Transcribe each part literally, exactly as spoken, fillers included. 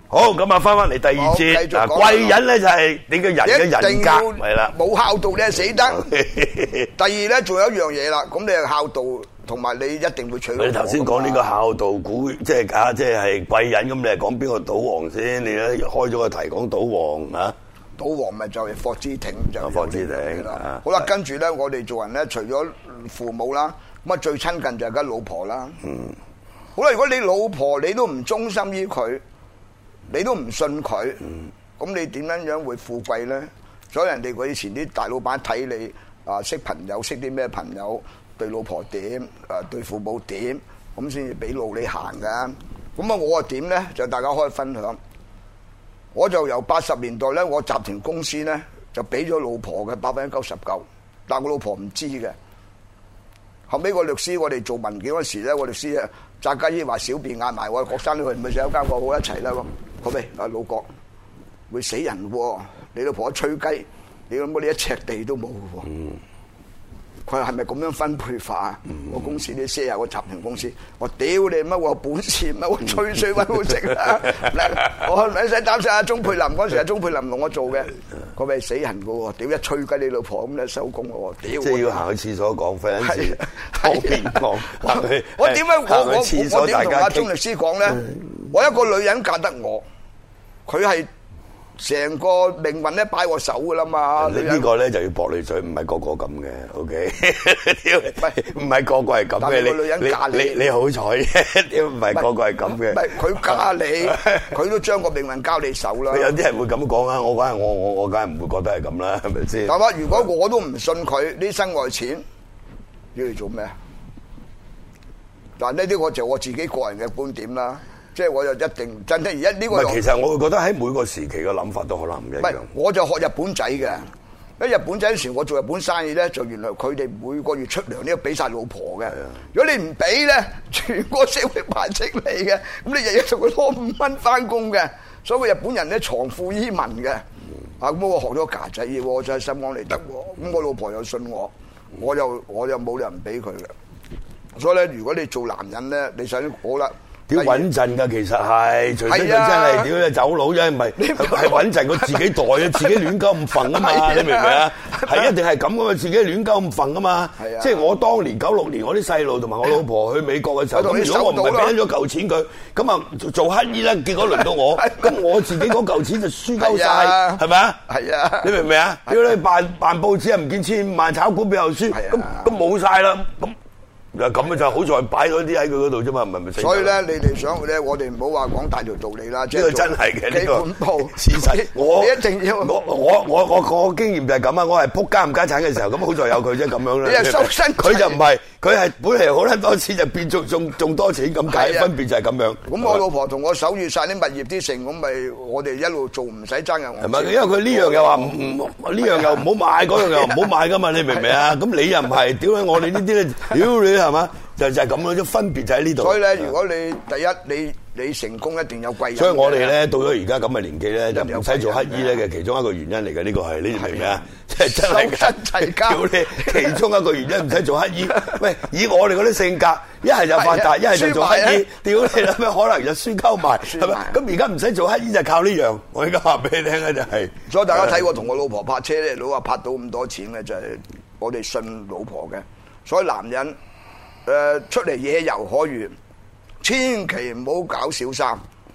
好，咁啊，翻翻嚟第二節嗱，貴人咧就係你嘅人嘅人格係啦， 冇孝道你係死得。第二咧，仲有一樣嘢啦，咁你係孝道，同埋你一定會娶老婆。 你頭先講呢個孝道股，即係啊，即係貴人咁，你係講邊個賭王先？你咧開咗個題講賭王啊？賭王咪就係霍之挺就。 霍之挺啦。 好啦，跟住咧，我哋做人咧，除咗父母啦，咁啊最親近就係家老婆啦。嗯。好啦，如果你老婆你都唔忠心於佢。你都唔信佢，咁、嗯、你點樣樣會富貴咧？所以人哋以前啲大老闆睇你啊，識朋友，識啲咩朋友，對老婆點，啊對父母點，咁先至俾路你行噶。咁啊，我啊點咧？就大家可以分享。我就由八十年代咧，我集團公司咧就俾咗老婆嘅百分之九十九，但係我老婆唔知嘅。後尾個律師，我哋做文件嗰時咧，我律師啊，扎家姨話小便嗌埋我郭生去，咪上一間房好一齊啦。好未？阿老郭會死人喎！你老婆一吹雞，你諗冇你一尺地都冇喎。佢話係咪咁樣分配法啊？嗯、我公司啲 share 個集團公司，我屌你乜我有本事乜我吹水揾好食啊！我唔使擔心阿鐘佩林嗰時，阿鐘佩林同我做嘅，佢咪死人噶喎！屌一吹雞你老婆咁咧收工咯喎！屌！即係要行去廁所講，費緊事，方便講。 我點解我我我點同阿鐘律師講咧？我一個女人嫁得我，佢係。成個命運咧擺我手噶啦嘛！ 呢呢個咧就要駁你嘴，唔係個個咁嘅，OK？唔係唔係個個係咁嘅，你女人嫁你你你好彩啫，唔係個個係咁嘅。 唔係佢嫁你，佢都將個命運交你手啦。 有啲人會咁講啊，我梗係我我我梗係唔會覺得係咁啦，係咪先？ 係嘛？如果我都唔信佢呢身外錢，要嚟做咩啊？嗱，呢啲我就我自己個人嘅觀點啦。即係我就一定真係而家呢個。 其實我會覺得喺每個時期嘅諗法都可能唔一樣。唔係， 我就學日本仔嘅。喺日本仔嗰時，我做日本生意咧，就原來佢哋每個月出糧呢，要俾晒老婆嘅。如果你唔俾咧，全個社會排斥你嘅。咁你日日同佢攞五蚊翻工嘅，所以日本人咧藏富於民嘅。啊，咁我學咗架仔嘢，我真係心安理得。咁我老婆又信我，我又我又冇人俾佢嘅。所以咧，如果你做男人咧，你想好啦。 屌穩陣㗎，其實係，除非佢真係屌你走佬啫，唔係係穩陣，佢自己袋啊，自己亂鳩咁瞓啊嘛，你明唔明啊？係一定係咁噶嘛，自己亂鳩咁瞓啊嘛。即係我當年九六年，我啲細路同埋我老婆去美國嘅時候，咁如果我唔係俾咗嚿錢佢，咁啊做乞衣啦，結果輪到我，咁我自己嗰嚿錢就輸鳩晒，係咪啊？係啊，你明唔明啊？屌你辦辦報紙啊，唔見千五萬，炒股票又輸，咁咁冇晒啦，咁。咁嘅就好在擺咗啲喺佢嗰度啫嘛，唔係咪？ 所以咧，你哋想咧，我哋唔好話講大條道理啦。 呢個真係嘅，呢個事實。 我一定要我我我我我經驗就係咁啊！我係撲家唔家產嘅時候，咁好在有佢啫，咁樣啦。 你係收身， 佢就唔係，佢係本嚟好撚多錢，就變仲仲仲多錢咁解，分別就係咁樣。 咁我老婆同我守住晒啲物業啲成，咁咪我哋一路做唔使爭人。 係咪？因為佢呢樣又話唔唔，呢樣又唔好買，嗰樣又唔好買噶嘛？你明唔明啊？咁你又唔係，屌你！我哋呢啲咧，屌你係嘛？就就係咁樣，分別就喺呢度。所以咧，如果你第一你你成功一定有貴人。所以我哋咧到咗而家咁嘅年紀咧，就唔使做乞衣咧嘅其中一個原因嚟嘅。呢個係你明唔明啊？即係真係收身齊家。屌你，其中一個原因唔使做乞衣。喂，以我哋嗰啲性格，一係就發達，一係就做乞衣。屌你啦咩？可能就輸鳩埋，係咪？咁而家唔使做乞衣就靠呢樣。我而家話俾你聽咧，就係。所以大家睇我同我老婆拍車咧，老話拍到咁多錢咧，就係我哋信老婆嘅。所以男人。誒、呃，出嚟野遊可遇，千祈唔好搞小三，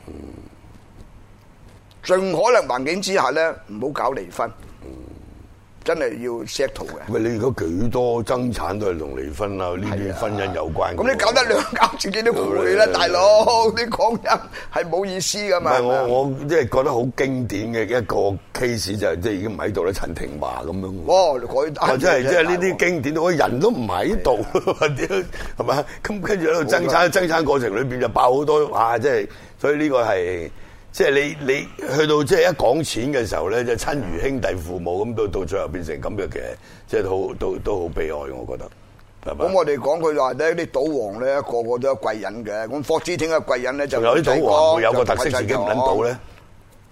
盡可能環境之下咧，唔好搞離婚。真係要 settle 嘅。喂，你而家幾多爭產都係同離婚啊？呢啲婚姻有關。咁你搞得兩搞自己都攰啦，大佬！你講人係冇意思噶嘛？唔係我我即係覺得好經典嘅一個 case 就係即係已經唔喺度啦，陳廷華咁樣。哦，佢即係即係呢啲經典，我人都唔喺度，屌係咪？咁跟住喺度爭產，爭產過程裏邊就爆好多哇！即係所以呢個係。即係你你去到即係一講錢嘅時候咧，就親如兄弟父母咁，到到最後變成咁嘅嘅，即係都都都好悲哀，我覺得。咁我哋講佢話咧，啲賭王咧個個都有貴人嘅，咁霍之挺嘅貴人咧就有啲賭王會有個特色，自己唔撚賭咧。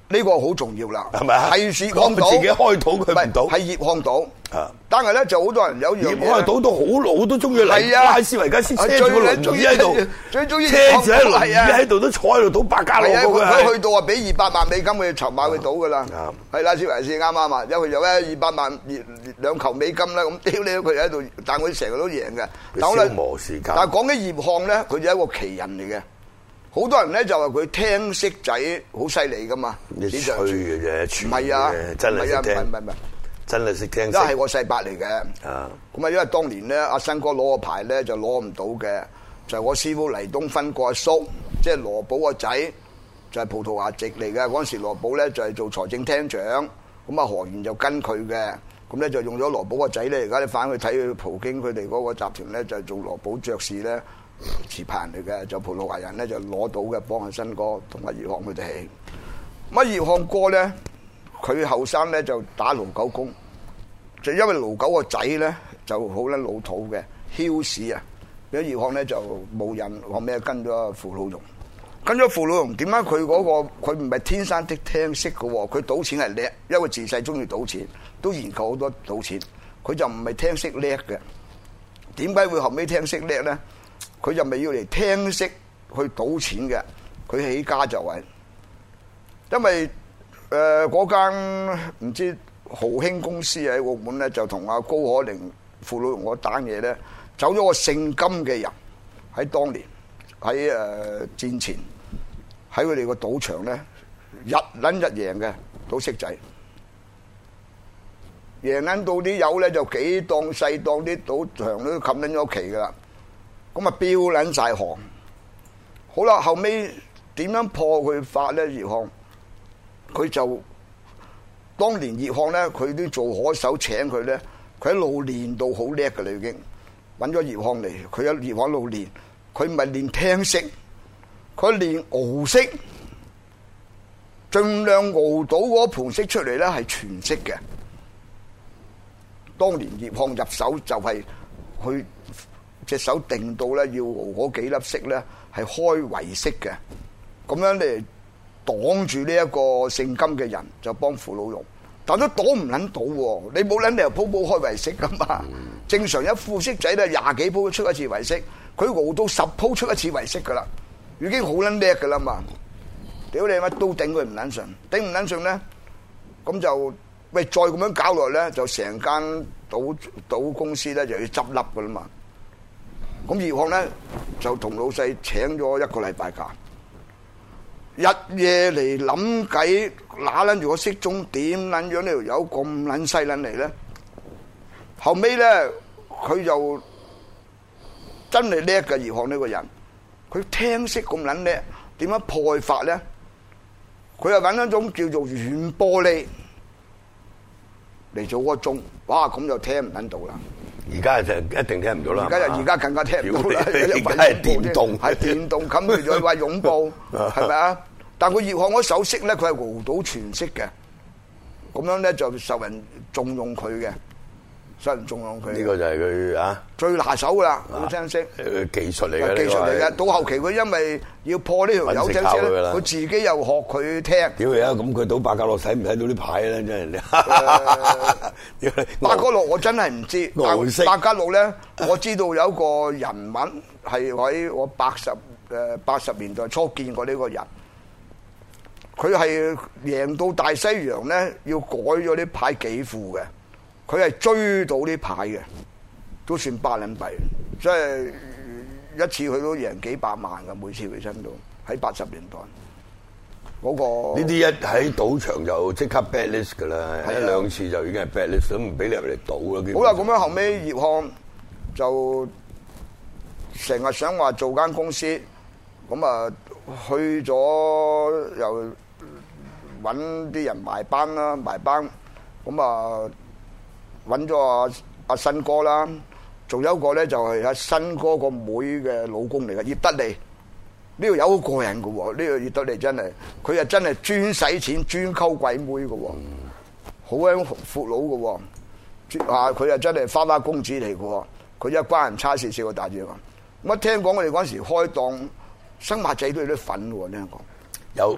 呢個好重要啦， 係咪啊？ 係葉漢島自己開島佢唔到， 係葉漢島。 啊！ 但係咧就好多人有樣嘢， 葉漢島都好老都中意嚟拉斯維加斯，車住個輪椅喺度， 最中意車住喺輪椅喺度都坐喺度賭百家樂嗰個係。 佢去到啊，俾二百萬美金佢籌碼去賭噶啦。係拉斯維加斯啱啱啊，因為有咧二百萬兩球美金啦，咁屌你佢喺度，但佢成日都贏嘅。 消磨時間。 但係講起葉漢咧，佢就係一個奇人嚟嘅。好多人咧就話佢聽識仔好犀利噶嘛， 你吹嘅啫， 唔係啊， 真係識聽， 唔係唔係， 真係識聽。 都係我細伯嚟嘅。 啊， 咁啊，因為當年咧，阿新哥攞個牌咧就攞唔到嘅，就係我師傅黎東芬個阿叔，即係羅寶個仔，就係葡萄牙籍嚟嘅。嗰陣時羅寶咧就係做財政廳長，咁啊何賢就跟佢嘅，咁咧就用咗羅寶個仔咧。而家你翻去睇佢葡京佢哋嗰個集團咧，就係做羅寶爵士咧。持牌人嚟嘅，就葡萄牙人咧就攞到嘅，幫阿新哥同阿葉漢佢哋起。咁啊葉漢哥咧，佢後生咧就打盧九公，就因為盧九個仔咧就好撚老土嘅，囂屎啊！咁葉漢咧就冇人，後尾跟咗傅老榕，跟咗傅老榕點解佢嗰個佢唔係天生的聽識嘅喎？佢賭錢係叻，因為自細中意賭錢，都研究好多賭錢，佢就唔係聽識叻嘅。點解會後尾聽識叻咧？佢就未要嚟聽識去賭錢嘅，佢起家就係，因為誒嗰間唔知豪興公司喺澳門咧，就同阿高可寧、傅老榕嗰單嘢咧，走咗個姓金嘅人喺當年喺誒戰前喺佢哋個賭場咧，日撚日贏嘅賭色仔，贏撚到啲友咧就幾檔細檔啲賭場都冚撚咗旗噶啦。咁啊，標撚晒行，好啦，後尾點樣破佢法咧？葉漢佢就當年葉漢咧，佢都做可手請佢咧，佢一路練到好叻㗎啦，已經揾咗葉漢嚟，佢喺葉漢度練，佢唔係練聽識，佢練熬識，盡量熬到嗰盤識出嚟咧係全識嘅。當年葉漢入手就係去。隻手定到咧，要熬嗰幾粒色咧，係開圍式嘅，咁樣嚟擋住呢一個姓金嘅人，就幫傅老榕，但都擋唔撚到喎。你冇撚理由鋪鋪開圍式噶嘛？嗯、正常一副色仔咧，廿幾鋪出一次圍式，佢熬到十鋪出一次圍式噶啦，已經好撚叻噶啦嘛。屌你乜都頂佢唔撚順，頂唔撚順咧，咁就喂再咁樣搞落咧，就成間賭賭公司咧就要執笠噶啦嘛。咁葉漢咧就同老細請咗一個禮拜假，日夜嚟諗計，揦撚住個骰盅點撚樣呢條友咁撚犀撚嚟咧？後尾咧佢就真係叻嘅葉漢呢個人，佢聽識咁撚叻，點樣破法咧？佢又揾一種叫做軟玻璃嚟做個鐘，哇！咁就聽唔撚到啦。 而家就一定聽唔到啦。 而家就而家更加聽唔到啦。 而家係電動， 係電動冚住咗話擁抱，係咪啊？但佢葉漢嗰手識咧，佢係熬到全識嘅，咁樣咧就受人重用佢嘅，受人重用佢。呢個就係佢啊最拿手噶啦，好聽識。 誒技術嚟嘅， 技術嚟嘅。到後期佢因為要破呢條友聽識咧，佢自己又學佢聽。 屌你啊！咁佢賭百家樂睇唔睇到啲牌咧？真係。 百家樂我真係唔知，百家樂咧我知道有一個人物係喺我八十誒八十年代初見過呢個人，佢係贏到大西洋咧，要改咗啲牌幾副嘅，佢係追到啲牌嘅，都算巴撚幣，即係一次佢都贏幾百萬嘅，每次佢身到喺八十年代。嗰個呢啲一喺賭場就即刻 bad list 噶啦，一兩次就已經係 bad list，都唔俾你入嚟賭啦。 好啦，咁樣後尾葉漢就成日想話做間公司，咁啊去咗又揾啲人埋班啦，埋班咁啊揾咗阿阿新哥啦，仲有一個咧就係阿新哥個妹嘅老公嚟嘅葉德利。呢個有好過癮嘅喎，呢個葉德利真係，佢又真係專使錢專溝鬼妹嘅喎，好鬼闊佬嘅喎，啊佢又真係花花公子嚟嘅喎，佢一關人差事少個大隻嘛。咁一聽講我哋嗰陣時開檔生馬仔都有啲份喎，聽講。 有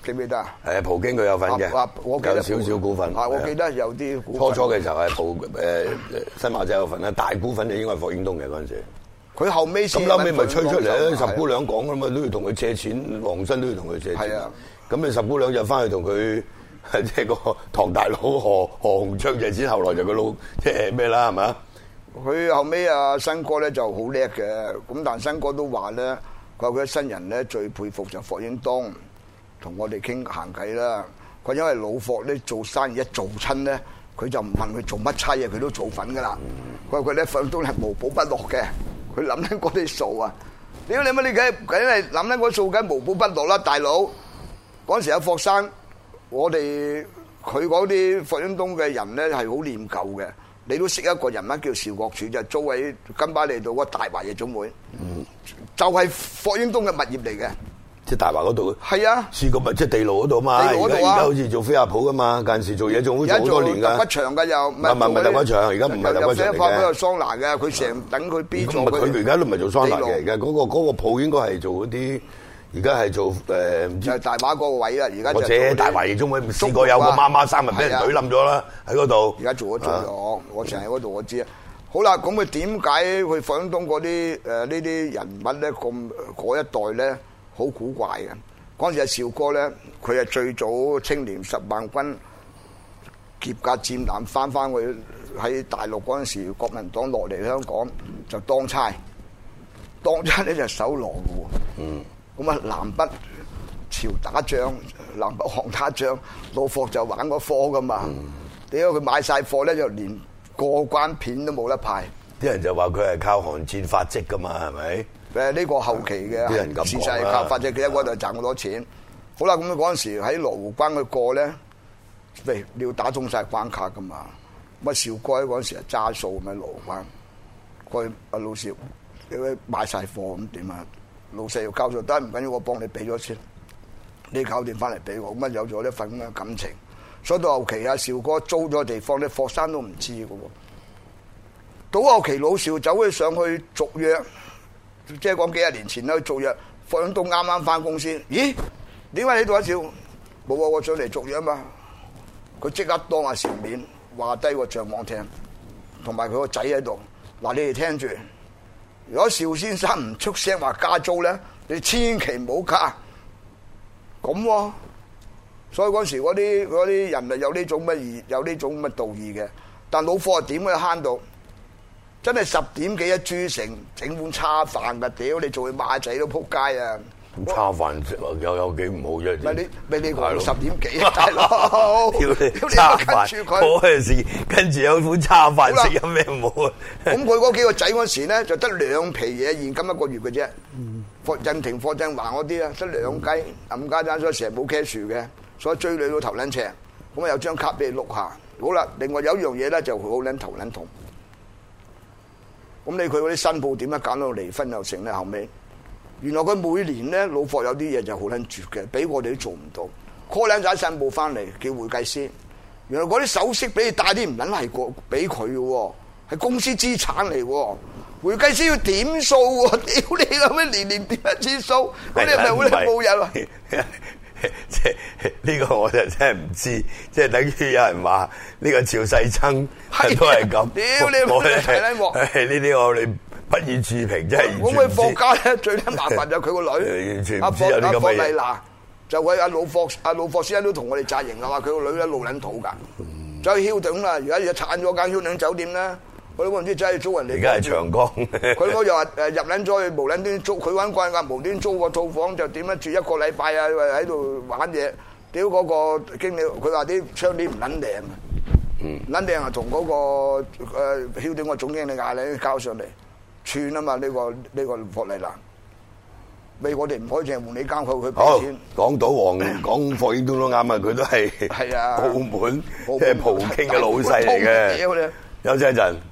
記唔記得啊？ 誒，葡京佢有份嘅， 我記得有少少股份。 我記得有啲股份。 初初嘅時候係葡誒新馬仔有份啦，大股份就應該係霍英東嘅嗰陣時。 佢後尾咁後尾咪吹出嚟，十姑娘講㗎嘛，都要同佢借錢，黃生都要同佢借錢。係啊，咁你十姑娘就翻去同佢即係個唐大佬何何鴻昌借錢，後來就佢老即係咩啦，係咪啊？ 佢後尾啊，新哥咧就好叻嘅，咁但新哥都話咧，佢話佢新人咧最佩服就霍英東，同我哋傾閒偈啦。佢因為老霍咧做生意一做親咧，佢就唔問佢做乜差嘢，佢都做份噶啦。佢話佢咧霍英東係無寶不落嘅，佢諗緊嗰啲數啊！屌你乜你梗梗係諗緊嗰數，梗無寶不落啦，大佬！嗰陣時有霍生，我哋佢嗰啲霍英東嘅人咧係好念舊嘅。你都識一個人物叫邵國柱，就租喺金巴利道嗰大華夜總會，嗯、就係霍英東嘅物業嚟嘅， 即係大華嗰度。係啊， 試過咪即係地牢嗰度嘛？ 地牢嗰度啊！ 而家好似做飛亞鋪噶嘛，近時做嘢仲會做好多年㗎。 揼骨場㗎又，唔係唔係揼骨場，而家唔係揼骨場嚟嘅。 有飛亞鋪有桑拿嘅，佢成等佢 B 座。 佢而家都唔係做桑拿嘅，而家嗰個嗰個鋪應該係做嗰啲。而家係做誒唔知就係大華嗰個位啦，而家或者大華夜總會試過有個媽媽生咪俾人懟冧咗啦喺嗰度。 而家做咗做咗，我成日喺嗰度我知啊。好啦，咁佢點解佢霍英東嗰啲誒呢啲人物咧咁嗰一代咧好古怪嘅？嗰陣時阿邵哥咧，佢係最早青年十萬軍劫架戰艦翻翻去喺大陸嗰陣時，國民黨落嚟香港就當差，當差咧就守羅嘅喎。嗯。咁啊，南北朝打仗，南北韓打仗，老霍就玩嗰科噶嘛。點解佢買晒貨咧，就連過關片都冇得派？ 啲人就話佢係靠韓戰發跡噶嘛，係咪？ 誒，呢個後期嘅， 啲人咁講啦。 事實係靠發跡，佢喺嗰度賺好多錢。好啦，咁嗰陣時喺羅湖關佢過咧，喂，你要打中晒關卡噶嘛？咁啊，邵哥嗰陣時係揸數咁喺羅湖關，過去阿老邵，你買晒貨咁點啊？老細要交數，得唔緊要，我幫你俾咗先，你搞掂翻嚟俾我，咁啊有咗一份咁嘅感情。所以到後期阿邵哥租咗地方咧，霍生都唔知嘅喎。到後期老邵走去上去續約，即係講幾廿年前啦，續約，霍英東啱啱翻公司，咦？點解你度阿邵？冇啊，我上嚟續約啊嘛。佢即刻當阿邵面話低個帳網聽，同埋佢個仔喺度。嗱，你哋聽住。如果邵先生唔出聲話加租咧，你千祈唔好加。咁、啊，所以嗰時嗰啲嗰啲人啊有呢種乜義，有呢種乜道義嘅。但老霍點會慳到？真係十點幾一錐城整碗叉飯㗎，屌你做佢馬仔都撲街啊！ 叉飯食又有幾唔好啫？ 咪你咪你講十點幾啊，大佬！ 屌你叉飯，嗰陣時跟住有碗叉飯食，有咩唔好啊？ 咁佢嗰幾個仔嗰時咧，就得兩皮嘢現金一個月嘅啫。霍震霆、霍震華嗰啲啊，得兩雞冚家鏟，所以成日冇 cash 嘅，所以追女都頭撚赤。咁啊有張卡俾你碌下。好啦，另外有一樣嘢咧就好撚頭撚痛。咁你佢嗰啲新報點樣搞到離婚又成咧？後尾原來佢每年咧老霍有啲嘢就好撚絕嘅，俾我哋都做唔到。call 兩仔新報翻嚟叫會計師，原來嗰啲首飾俾你帶啲唔撚係過俾佢嘅喎，係公司資產嚟喎。會計師要點數喎，屌你咁樣年年點一次數，嗰啲係咪好撚冇人啊？ 即係呢個我就真係唔知，即係等於有人話呢個趙世曾都係咁。 屌你我哋睇喎！ 呢啲我哋不予置評，真係完全唔知。 咁佢霍家咧最撚麻煩就佢個女， 完全唔知有啲咁嘅嘢。 阿霍麗娜就佢阿老霍阿老霍先生都同我哋紮營啊，話佢個女咧路撚土㗎，走去 Hilton 啦，而家又鏟咗間 Hilton酒店啦。佢都唔知真係租人哋。 而家係長江。佢嗰又話誒入撚咗去無撚端租，佢揾慣㗎無端租個套房就點樣住一個禮拜啊？喺度玩嘢，屌嗰個經理，佢話啲窗簾唔撚靚啊，唔撚靚啊，同嗰個誒曉點個總經理嗌你交上嚟串啊嘛，呢個呢個霍麗娜，咪我哋唔可以淨係換你間鋪佢俾錢。 講到黃講霍英東都啱啊，佢都係係啊澳門即係葡京嘅老細嚟嘅。休息一陣。